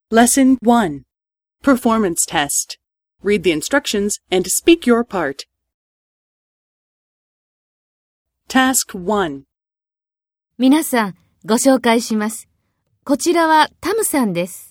Lesson 1. Performance Test. Read the instructions and speak your part. Task 1. 皆さん、ご紹介します。こちらはタムさんです。